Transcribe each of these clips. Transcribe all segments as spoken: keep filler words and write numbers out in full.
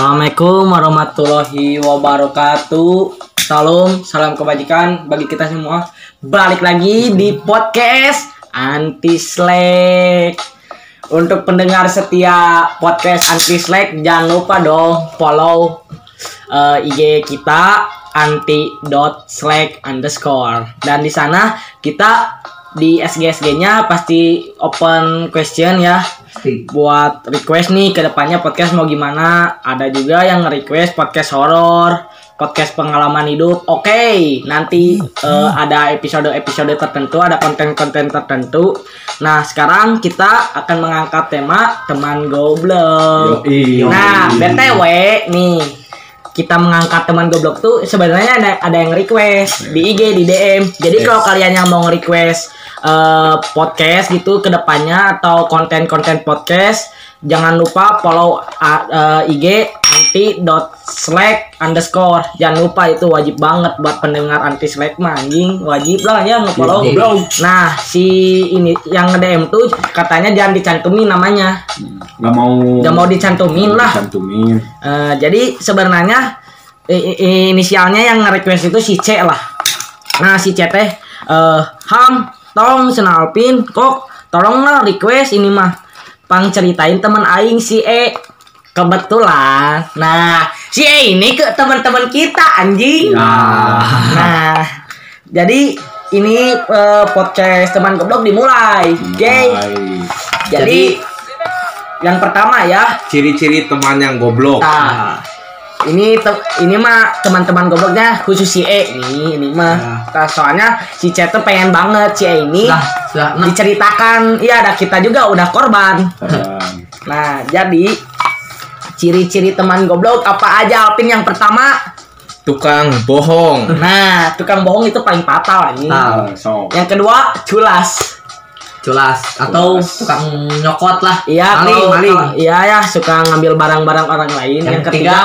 Assalamualaikum warahmatullahi wabarakatuh. Salam, salam kebajikan bagi kita semua. Balik lagi di podcast Anti Slack. Untuk pendengar setia podcast Anti Slack, jangan lupa dong follow uh, I G kita anti.slack underscore. Dan di sana kita di S G S G-nya pasti open question ya. Buat request nih kedepannya podcast mau gimana. Ada juga yang request podcast horor, podcast pengalaman hidup. Oke, okay, nanti uh, ada episode-episode tertentu, ada konten-konten tertentu. Nah, sekarang kita akan mengangkat tema teman goblok. Yoi. Nah, B T W nih, kita mengangkat teman goblok tuh sebenarnya ada ada yang request di I G, di D M. Jadi yes. Kalau kalian yang mau request uh, podcast gitu ke depannya atau konten-konten podcast, jangan lupa follow uh, uh, I G anti.slack underscore. Jangan lupa, itu wajib banget buat pendengar anti slack mah, anjing wajib lah ya nge-follow. Nah, si ini yang nge-D M tuh katanya jangan dicantumin namanya. Gak mau Gak mau dicantumin lah. Dicantumin. Uh, jadi sebenarnya i- i- inisialnya yang nge-request itu si C lah. Nah, si C teh uh, Ham, tolong senalpin kok, tolong lah request ini mah pang ceritain teman aing si E. Kebetulan, nah si E ini ke teman-teman kita anjing. Nah, nah jadi ini uh, podcast teman goblok dimulai. Oke. Okay. Jadi, jadi yang pertama ya, ciri-ciri teman yang goblok. Nah, ini te- ini mah teman-teman gobloknya khusus si E nih, ini mah. Nah, soalnya si C tuh pengen banget si E ini sudah, sudah, nah. diceritakan. Iya, ada kita juga udah korban. Nah, jadi ciri-ciri teman goblok apa aja, Alvin? Yang pertama, tukang bohong. Nah, tukang bohong itu paling fatal ini. Nah, so. Yang kedua, culas. Culas atau Culas. tukang nyokot lah. Iya, maling, kalau, maling. kalau, iya ya, suka ngambil barang-barang orang lain. Yang, Yang ketiga,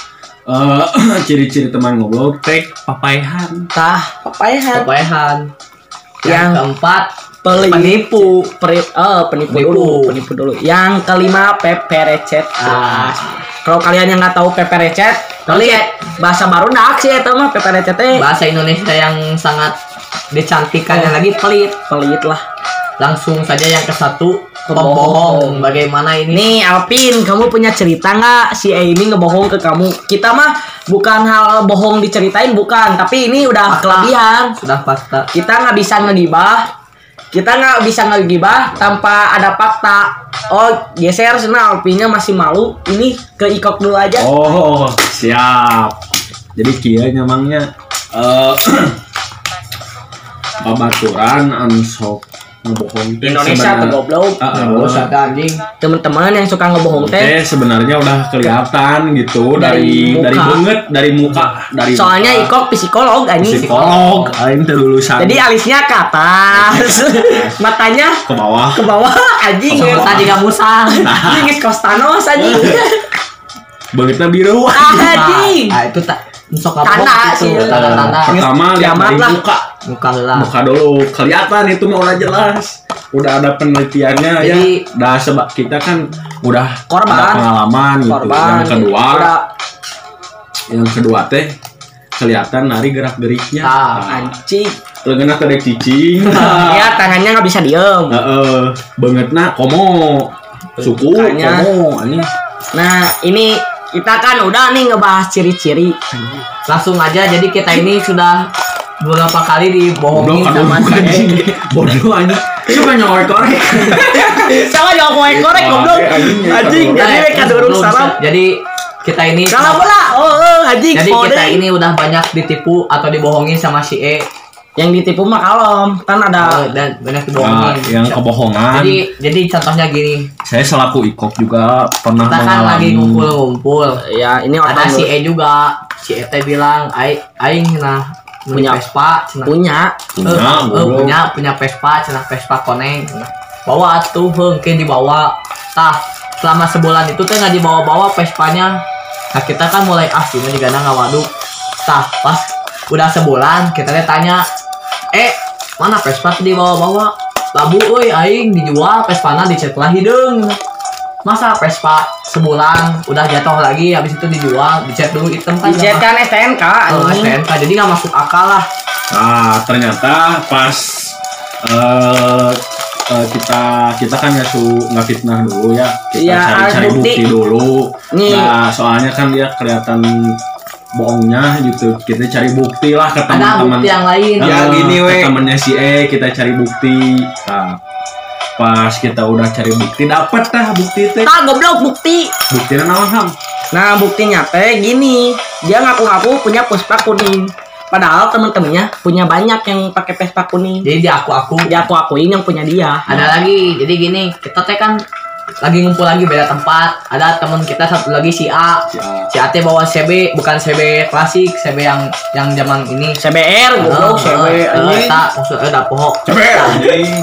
Uh, ciri-ciri teman goblok, tek papayahan. tah papayahan. Papayahan. Yang Yang keempat, Peli, penipu. Peri, oh, penipu, Penipu. dulu, penipu dulu. Yang kelima, peperecet. Ah. Kalau kalian yang nggak tahu peperecet, kalian bahasa baru dak sih itu mah peperecet teh. Bahasa Indonesia yang sangat dicantikannya Oh. lagi pelit. Pelit lah. Langsung saja yang ke satu, Pembohong. pembohong. Bagaimana ini? Nih Alvin, kamu punya cerita nggak si E ini ngebohong ke kamu? Kita mah bukan hal bohong diceritain, bukan. Tapi ini udah Fakta. kelebihan. Sudah fakta. Kita nggak bisa ngegibah. Kita nggak bisa ngegibah tanpa ada fakta. Oh, geser sana Alvinnya masih malu. Ini ke Ikok dulu aja. Oh, siap. Jadi kia nyamangnya eh babaturan ansok ngebohong teh Indonesia tuh goblok. Uh, Bos ada anjing. Teman-teman yang suka ngebohong teh. teh sebenarnya udah kelihatan gitu Dari dari dari, muka. banget dari muka dari Soalnya muka. Ikok psikolog anjing. psikolog, aing teh lulusan Jadi alisnya ke atas, matanya ke bawah. ke bawah anjing. Sama tadi gak musang. Anjing geus Kostanos anjing. Begitu biru. Anjing. Ah, itu tak sok Tanda sih. Tanda-tanda. Pertama lihat Kiamat dari lah. muka. Muka lah. Muka dulu kelihatan itu mah udah jelas. Udah ada penelitiannya. Jadi- ya. Udah sebab kita kan udah Korban. ada pengalaman gitu. Korban. Yang kedua, Udah yang kedua teh kelihatan nari gerak-geriknya. Ah, anjing. Leungeunna teh dek cicing. Ya tangannya nggak bisa diem. Heeh, beungeutna komo. Suku Mukanya. komo anjing. Nah ini kita kan udah nih ngebahas ciri-ciri. Langsung aja, jadi kita ini sudah beberapa kali dibohongin Goblok sama aduh si E. anjing. Bodoh anjing. Suka nyolek-korek. Sama jangan korek-korek goblok. Anjing jadi Eh, mereka durung belum salam. bisa. Jadi kita ini Salam bola. Oh, oh anjing. jadi Kode. kita ini udah banyak ditipu atau dibohongin sama si E. Yang ditipu mah kalem. Kan ada Oh, dan banyak Nah, dibohongin. yang kebohongan. Jadi jadi contohnya gini, Saya selaku Ikok juga pernah kita kan mengalami. lagi ngumpul-ngumpul. ya ini Ada orang si E juga. Si E teh bilang, "Ai aing nah Punya. punya Vespa, cenah." punya. Eh, Punya, eh, goblok. punya punya Vespa, cenah Vespa koneng. Bawa tuh hengke dibawa. Tah, selama sebulan itu teh nggak dibawa-bawa Vespanya. Nah kita kan mulai ah cuma juga nggak waduk. Tah pas udah sebulan kita teh tanya, eh mana Vespa tuh dibawa-bawa? Labu euy aing dijual Vespana dicet lah hideung. Masa Vespa sebulan udah jatuh lagi, habis itu dijual, dicat dulu item kan? Dicat kan S T N K. Oh, S T N K, jadi nggak masuk akal lah. Nah, ternyata pas uh, uh, kita kita kan nggak su nggak fitnah dulu ya, kita Iya, cari-cari bukti. bukti dulu. Nih. Nah, soalnya kan dia kelihatan bohongnya gitu, kita cari bukti lah ke Ada teman-teman. bukti yang lain. Nah, Ya, gini, ke we. temennya si E kita cari bukti. Nah, pas kita udah cari bukti dapet dah bukti teh. Ah, goblok bukti. Buktinya naon ham? Nah, buktinya teh gini. Dia ngaku-ngaku punya Vespa kuning. Padahal temen-temennya punya banyak yang pakai Vespa kuning. Jadi dia aku-aku. Dia aku-akuin yang punya dia. Ada lagi, jadi gini, kita teh kan lagi ngumpul lagi beda tempat. Ada teman kita satu lagi si A. Si A. Si A teh bawa C B, bukan C B klasik, C B yang yang zaman ini. C B R goblok, C B Eh, anjing. tak maksudnya udah pohok. Anjing.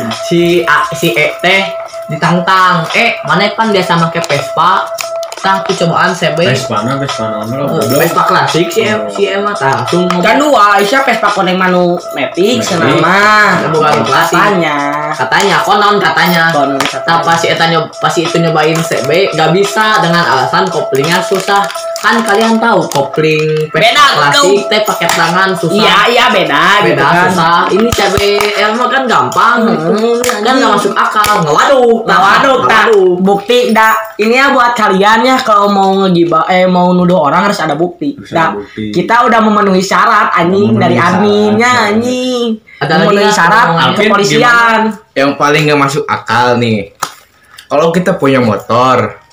Si A, si E teh ditantang. Eh, mana kan biasa make Vespa? Tah tuh cobaan C B. Vespa na, Vespa naon Eh, lo. Vespa klasik si E, si E mah tah langsung Kan dua, Aisyah Vespa kuning manu Matic Matic. senama. Bukan klasik. Katanya. katanya konon katanya. Konon Nah, katanya. pas si Eta nyob, pas si itu nyobain C B gak bisa dengan alasan koplingnya susah. Kan kalian tahu kopling Vespa Beda, klasik teh pakai tangan susah. Iya, iya beda, gitu beda kan. susah. Ini C B R mah kan gampang. Hmm, Kan nggak masuk akal. Ngewaduk. Nah, waduh, tak Ngewaduk. bukti dah. Ini ya buat kalian ya kalau mau ngegibah eh mau nuduh orang harus ada bukti. Harus Dah, ada bukti. kita udah memenuhi syarat anjing Memenuhi dari syarat, adminnya ya. anjing. Ada lagi memenuhi nggak syarat omongan? Alvin, kepolisian. Yang paling gak masuk akal nih, kalau kita punya motor,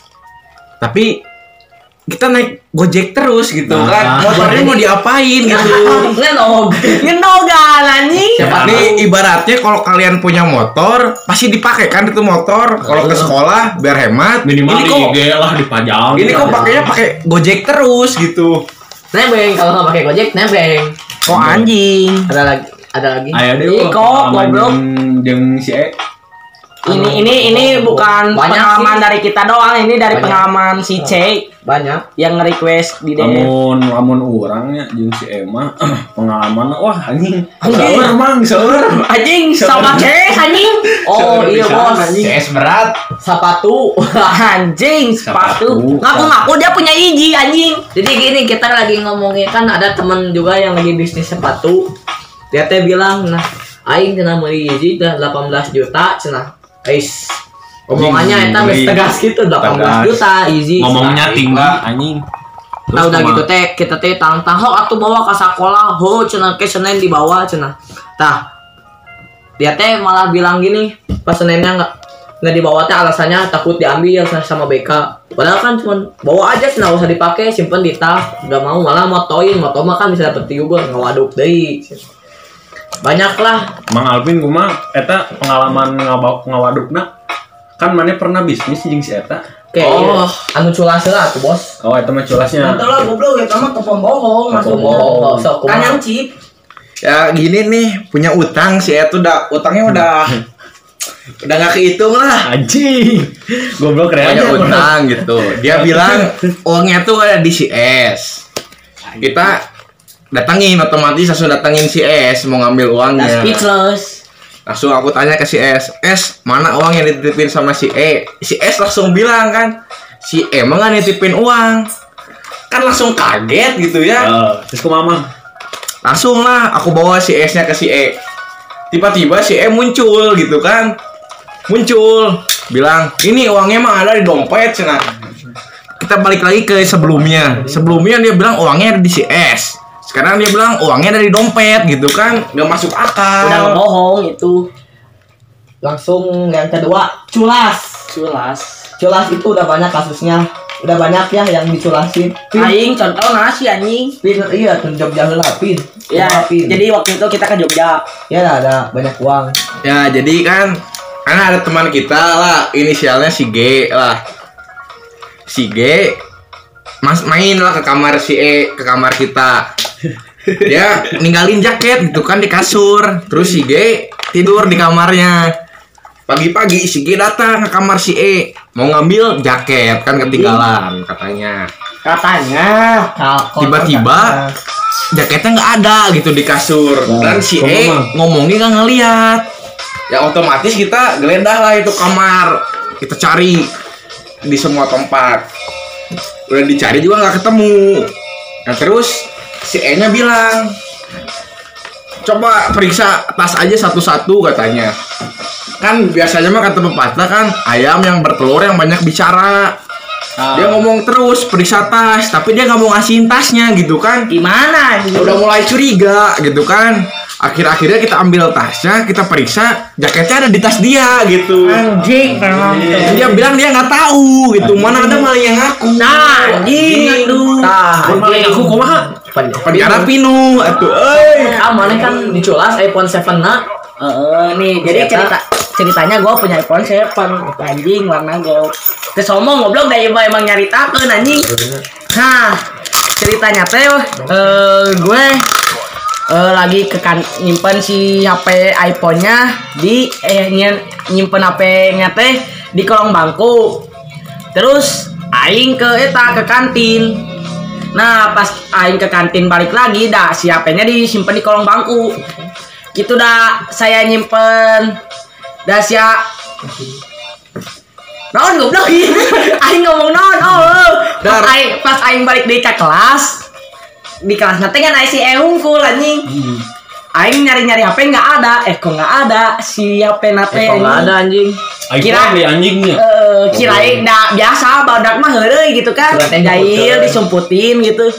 tapi kita naik Gojek terus gitu Nah. kan, motornya mau diapain gitu? Ngenog. Ngenogan anjing. Siapa Nih tahu. ibaratnya kalau kalian punya motor, pasti dipakai kan itu motor. Kalau ke sekolah biar hemat. Minimal ini di kok, I G lah dipajang. ini kok pakainya pakai Gojek terus gitu. Nebeng kalau nggak pakai Gojek nebeng. Kok anjing? Ada lagi, ada lagi. Ayo deh, Ih, wah, kok, pengalaman goblok. jeung- jeung si E. Ini ini ini bukan Banyak pengalaman sih. dari kita doang, ini dari Banyak. pengalaman si C Banyak. yang nge-request di D M. Lamun lamun urangnya jeung si Emma pengalaman wah anjing. Anjing. Saur mang, saur. Anjing sama C anjing. Oh Siapa iya bisa, bos. anjing? C S berat. Sepatu. Anjing sepatu. Sepatu. Ngaku-ngaku dia punya iji anjing. Jadi gini kita lagi ngomongin kan ada teman juga yang lagi bisnis sepatu. Dia teh bilang, nah, aing cenah meuli hiji dah delapan belas juta cenah. Ais. Omongannya eta geus Anjing, tegas gitu delapan belas tegas. juta hiji. Ngomongnya cenah. tinggi anjing. Nah udah gitu teh kita teh tantang hok atuh bawa ke sekolah ho cenah ke Senin dibawa cenah. Tah. Dia teh malah bilang gini, pas Seninnya enggak nggak dibawa teh alasannya takut diambil sama B K. Padahal kan cuma bawa aja cenah usah dipakai, simpen di tas. Enggak mau malah motoin, moto mah kan bisa dapet juga ngawaduk deui. Banyak lah. Mang Alvin kumaha eta pengalaman ngabak ngawadukna? Kan mana pernah bisnis jeung si eta? Kayak Oh. anu culas lah tuh bos. Oh, eta mah culasnya. Mantul lah goblok ya kamu ke pembohong Ke maksudnya. pembohong. Sok Kan kumaha. yang chip. Ya gini nih, punya utang sih itu udah utangnya udah udah nggak kehitung lah. Anjing. Goblok Punya reanya. utang gitu. Dia bilang uangnya tuh ada di C S. Kita datangin otomatis langsung datangin si S mau ngambil Nah, uangnya. speechless. Langsung aku tanya ke si S, S mana uang yang dititipin sama si E? Si S langsung bilang kan, si E emang nggak nitipin uang. Kan langsung kaget gitu ya. Eh, terus kumaha Mang? Langsung lah aku bawa si S-nya ke si E. Tiba-tiba si E muncul gitu kan. Muncul, bilang, "Ini uangnya emang ada di dompet, cenah." Kita balik lagi ke sebelumnya. Sebelumnya dia bilang uangnya ada di si S. Sekarang dia bilang uangnya dari dompet gitu kan. Nggak masuk akal. Udah ngebohong itu. Langsung yang kedua culas. Culas. Culas itu udah banyak kasusnya. Udah banyak ya yang diculasin. Aing contoh nasi anjing. Pin iya tuh Jogja heula pin. Ya, Kumaha, pin. jadi waktu itu kita ke Jogja. ya ada, ada banyak uang. Ya jadi kan karena ada teman kita lah inisialnya si G lah. Si G mas main lah ke kamar si E, ke kamar kita. Dia ninggalin jaket gitu kan di kasur. Terus si G tidur di kamarnya. Pagi-pagi si G datang ke kamar si E mau ngambil jaket kan ketinggalan katanya. Katanya. Tiba-tiba jaketnya nggak ada gitu di kasur. Wah, Dan si kok E memang? ngomongnya nggak ngeliat. Ya otomatis kita geledah lah itu kamar. Kita cari. di semua tempat. Udah dicari juga nggak ketemu. Nah terus si E nya bilang, coba periksa tas aja satu-satu katanya. Kan biasanya mah kata pepatah kan, ayam yang bertelur yang banyak bicara. Ah. Dia ngomong terus periksa tas, tapi dia nggak mau ngasihin tasnya gitu kan. Gimana? Udah mulai curiga gitu kan. Akhir-akhirnya kita ambil tasnya, kita periksa, jaketnya ada di tas dia gitu. Anjing, memang. Dan dia bilang dia nggak tahu gitu, mana ada maling yang ngaku. Nah, anjing, aduh. Tah, Mun maling aku kumaha? Penjara pinu, atuh, euy. Ah, mana kan diculas iPhone tujuh na. Heeh, nih, jadi Siapa? cerita ceritanya gue punya iPhone tujuh, anjing warna gold. Kesomong goblok dah emang emang nyaritakeun anjing. Nah, ceritanya teh eh gue eh, lagi ke kan nyimpen si H P iPhone-nya di eh nyen- nyimpen H P-nya teh di kolong bangku. Terus aing ke eta ke kantin. Nah, pas aing ke kantin balik lagi dah si H P-nya disimpan di kolong bangku. Gitu dah saya nyimpen dah sia non goblok aing ngomong non oh pas aing pas aing balik dari ke kelas di kelas nanti kan si E hungkul anjing aing nyari-nyari H P nggak ada eh kok nggak ada si H P nate Eh, kok nggak ada anjing. Aing Kira- beli anjingnya. Eh, kirain dah biasa badak mah heureuy gitu kan Suratnya jahil dipotong. disumputin gitu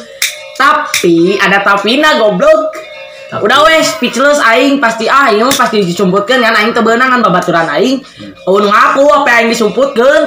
tapi ada tapina goblok. Tapi- Udah wes speechless aing pasti aing mah pasti disumputkeun kan aing teu beunang kan babaturan aing. Oh nu ngaku apa aing disumputkeun.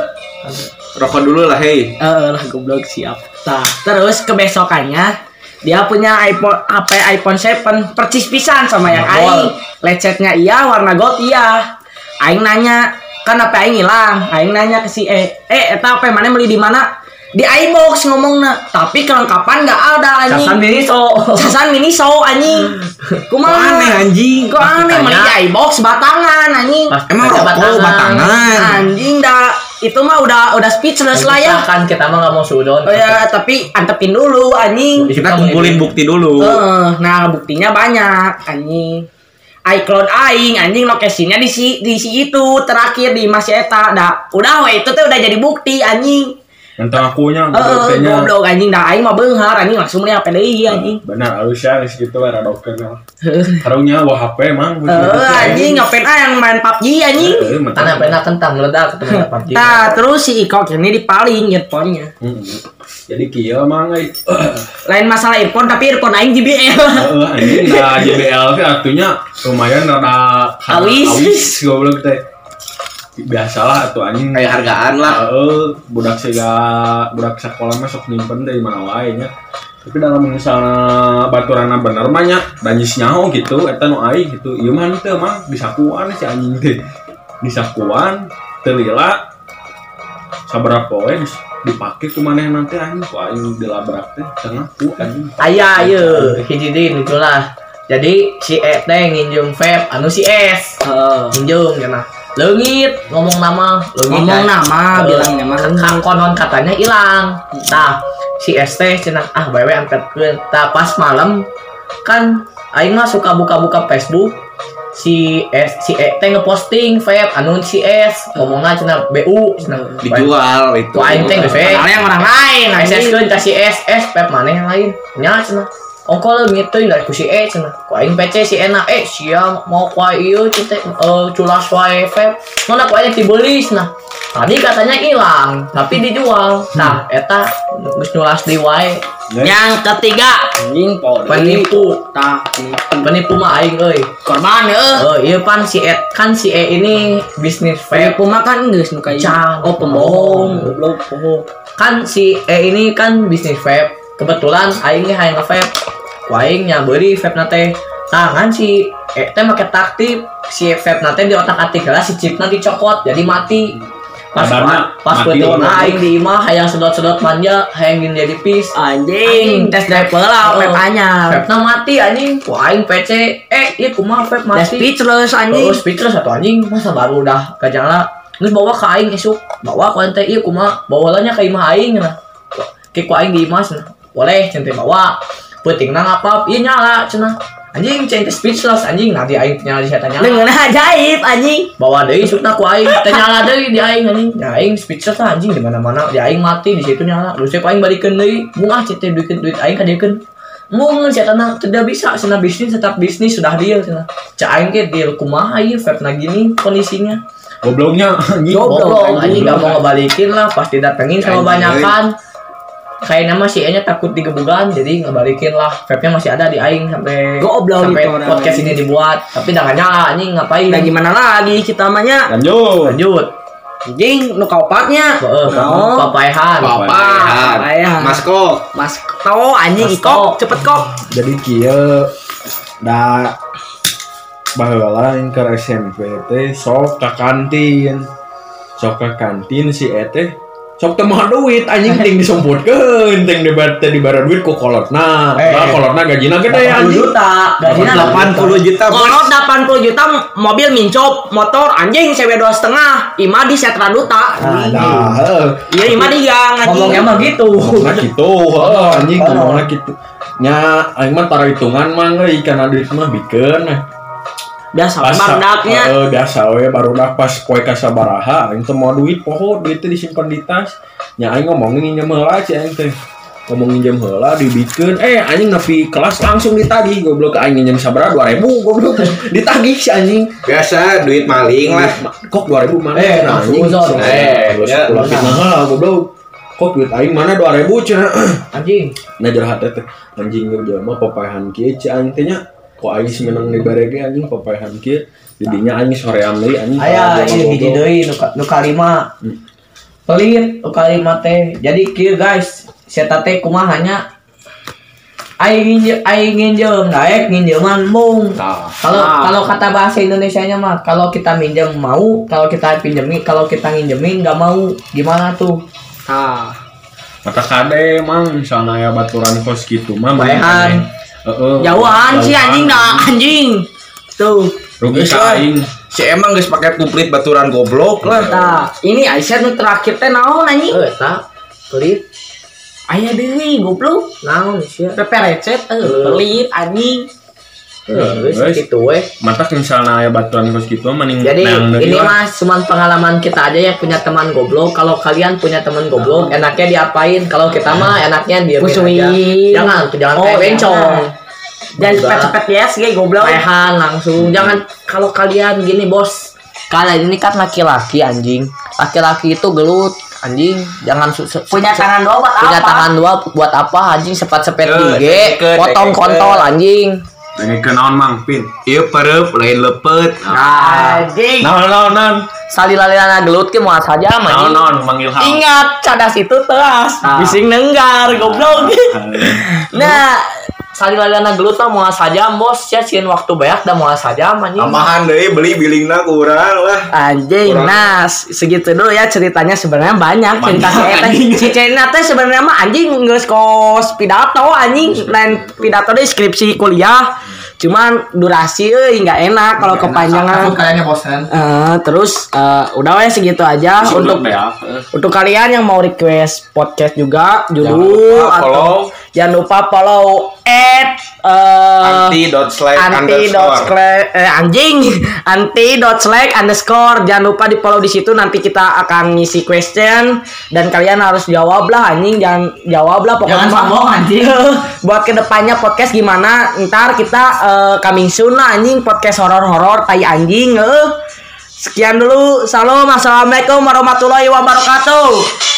Rokok dulu lah, hei. Eh lah goblok siap. Tah, terus kebesokannya dia punya iPhone H P iPhone tujuh percis pisan sama yang aing. Lecetnya iya, warna gold iya. Aing nanya, kan H P aing hilang. Aing nanya ke si E, "Eh, eta H P mana beli di mana?" Di iBox ngomongna, tapi kelengkapan nggak ada anjing. Casan Miniso. Casan Miniso anjing. Kok Kumaha? aneh anjing. Kok aneh Tanya. meli di iBox batangan anjing. Pas Emang baca rokok batangan. Anjing dah itu mah udah udah speechless lah ya. Kan kita mah nggak mau sudon. Oh ya, tapi antepin dulu anjing. Kita kumpulin bukti dulu. Eh, nah buktinya banyak anjing. iCloud aing anjing lokasinya di si di si itu terakhir di Mas Eta. Dah, udah we itu tuh udah jadi bukti anjing. Tentang akunya, Heeh, gobloknya. goblok anjing dah aing mah beunghar anjing langsung beli H P deui anjing. Benar, halus ya, geus kitu era dokternya. Harungnya wah H P emang. Eh, anjing ngapain ah yang main P U B G anjing. Karena pernah kentang meledak ketemu P U B G. Nah, terus si Iko ini dipaling earphone-nya. Jadi kieu mang euy. Lain masalah earphone tapi earphone aing J B L. Heeh, anjing da J B L teh artinya lumayan rada Awis. awis goblok teh. Biasalah atuh anjing Kayak hargaan lah. Heeh, budak siga budak sekolah mah sok nyimpen dari mana wae nya. Tapi dalam misalnya baturanna bener mah nya danjis nyaho gitu eta nu aing gitu. Ieu mah teh mah disakuan si anjing teh. Disakuan teu lila sabaraha poe geus dipake ku maneh nanti anjing ku aing dilabrak teh tengah ku anjing. Aya ieu hiji deui lucu lah. Jadi si E teh nginjem vape anu si S. Heeh. Nginjem cenah. Leungit ngomong nama, leungit Ngomong kan. nama, Eh, bilangnya mah. kan konon katanya hilang. Tah, si S teh cenah ah bae angkatkeun. Tah pas malam kan aing mah suka buka-buka Facebook. Si S si E teh ngeposting vape anu si S ngomongna cenah B U cenah Dijual itu. ku aing teh geus we. Padahal yang orang lain S S anjing. keun ka si S S vape mana yang lain. Nya cenah. Ongkol gitu dari ku si E cenah. Ku aing P C si Ena eh sia mau ku ieu teh eh culas wae vape. Mana ku aing dibeli cenah. Tadi katanya hilang, tapi dijual. Nah, eta geus nyulas di wae. Yang ketiga anjing po Penipu. tah penipu. Penipu mah aing euy. Korban heuh. Oh, iya pan si E kan si E ini bisnis vape. Penipu mah kan geus nu kayak Can. oh pembohong goblok bohong. Kan si E ini kan bisnis vape. Kebetulan aing ge hayang nge-vape. Ku aing nya beuri vape na teh. Tangan si E teh make taktik si vape na teh di otak-atik lah si chipna dicokot jadi mati. Pas Kadarna pas mati peuting orang. aing di imah hayang sedot-sedot manja, hayang gin jadi pis. Anjing, tes drive lah Oh, vape anyar. Vape na mati anjing. Ku aing P C eh ieu kumaha vape Udah mati. speechless anjing. Oh, speechless satu anjing masa baru udah gajala. Geus bawa ka aing esuk. Bawa ku ente ieu kumaha? Bawa nya ka imah aing cenah. Ki ku aing di imah cenah. Boleh cenah bawa. Peutingna ngapap ieu nyala cenah. Anjing ceng teh speechless anjing nanti aing nyala di saya tanya. Dengan ajaib anjing. Bawa deui sukna ku aing teh nyala deui di aing anjing. Ya aing speechless lah anjing di mana-mana. Di aing mati di situ nyala. Terus aing balikeun deui. Mungah cek teh duit duit aing ka diekeun. Mung sia tanah tidak bisa cenah bisnis tetap bisnis sudah dia cenah. Cek aing ge deal kumaha ieu vape-na gini kondisinya. Gobloknya anjing. Goblok anjing enggak mau ngebalikin lah pas didatengin sama banyakan. Kayaknya masih enya takut digebugan jadi ngebalikin lah vape-nya masih ada di aing sampai Goblok sampai gitu orang. podcast ini dibuat tapi dah gak nyala anjing ngapain Nah gimana lagi kita namanya? Lanjut. lanjut Anjing nu kaopatnya. heeh Oh. papaehan Papahan. Papahan. Mas kok. Mas to anjing Mas ikop to. cepet kok. Jadi kieu da baheula yang ke S M P teh sok ka kantin. Sok ka kantin si eteh sok teu moal duit anjing ting disumputkeun ting dibara dibara duit ku kolotna. Eh. Nah, kolotna gajina gede delapan puluh anjing. juta gajinya delapan puluh juta. Kolot delapan puluh juta mobil mincop, motor anjing sewe dua setengah, ima di setra duta. Nah, heeh. Iya ima di gang anjing. ngomongnya mah gitu Ngomongna kitu, heeh anjing Heeh. ngomongna kitu. Nya aing mah tara hitungan mah euy kana duit mah bikeun. Biasa Pas bardaknya. heeh biasa we barudak pas poe ka sabaraha aing teh moal duit poho duit teh disimpan di tas. Nya aing ngomongin nginjem heula ci aing teh. Ngomong nginjem heula dibikeun eh anjing nepi kelas langsung ditagih goblok aing nginjem sabaraha dua ribu goblok ditagih si anjing. Biasa duit maling lah. Kok dua ribu mana? Eh, Nah, langsung uzon. Eh, terus ya, pulang benar. fitnah heula goblok. Kok duit aing mana dua ribu cenah. anjing Nah jahat teh anjing ge jelema papaehan kieu ci aing teh nya. Kok aing semenang di barege anjing papaehan kieu. Didinya aing sorean deui anjing. aya Kalau ieu hiji goblok. deui nu ka- nu kalima Hmm. pelit nu kalima teh jadi kieu guys saya teh kumahanya aing nginjem aing nginjem daek nginjeman mung Tah. kalau Ah. kalau kata bahasa Indonesianya mah kalau kita minjem mau kalau kita pinjemin kalau kita nginjemin nggak mau gimana tuh Ah, Mata kade mang misalnya ya baturan kos gitu mah Baehan. Heeh. jauhan sih anjing dah anjing. Tuh. Rugi Geus ka lah. aing. Si emang geus pakai kuplit baturan goblok lah. Tah, ini Aisyah nu terakhir teh naon anjing? eh tak pelit Aya deui goblok. naon sih Pepe recet eh pelit anjing. eh Guys. gitu weh Mata misalnya ya baturan kos gitu mah mending jadi neang deui ini lah. mah cuma pengalaman kita aja ya punya teman goblok. Kalau kalian punya teman goblok, enaknya diapain? Kalau kita mah enaknya diamin Pusuin. aja. Jangan, tuh jangan Oh, kayak bencong. jangan. Jangan Juga. cepet-cepet ya sih goblok. Pehan langsung. Jangan kalau kalian gini bos. Kalian ini kan laki-laki anjing. Laki-laki itu gelut anjing. Jangan su- su- Punya su- tangan dua buat punya apa? tangan dua buat apa anjing sepet-sepet Eh, gigi, deket, potong deket. kontol anjing. Pengen kenaon mang pin. Ieu pereup lain lepet. Anjing. Naon naon naon. Salilaliana gelut ke moal saja Naon anjing. naon manggil hal. Ingat cadas itu teras, Ah. bising nenggar goblok. Nah, salilaliana gelut mah moal saja bos, ya sieun waktu beak da moal saja anjing. Tambahan deui beli bilingna kurang lah. Anjing, Kurang. nah segitu dulu ya ceritanya sebenarnya banyak cerita si Banyak, Eta. anjing. Si Cena teh sebenarnya mah anjing geus kos pidato anjing, lain pidato deh skripsi kuliah. Cuman durasi euy enggak enak kalau kepanjangan. kayaknya bosan. Eh, terus eh, udah weh segitu aja untuk ya. untuk kalian yang mau request podcast juga Jangan judul lupa atau follow. jangan lupa follow at eh, Anti dot slash anti dot underscore. slash eh, anjing anti dot slash underscore jangan lupa di follow di situ nanti kita akan ngisi question dan kalian harus jawab lah anjing jangan jawab lah pokoknya Jangan sombong, anjing. buat kedepannya podcast gimana ntar kita eh, coming soon lah anjing podcast horor-horor tai anjing eh. Sekian dulu salam assalamualaikum warahmatullahi wabarakatuh.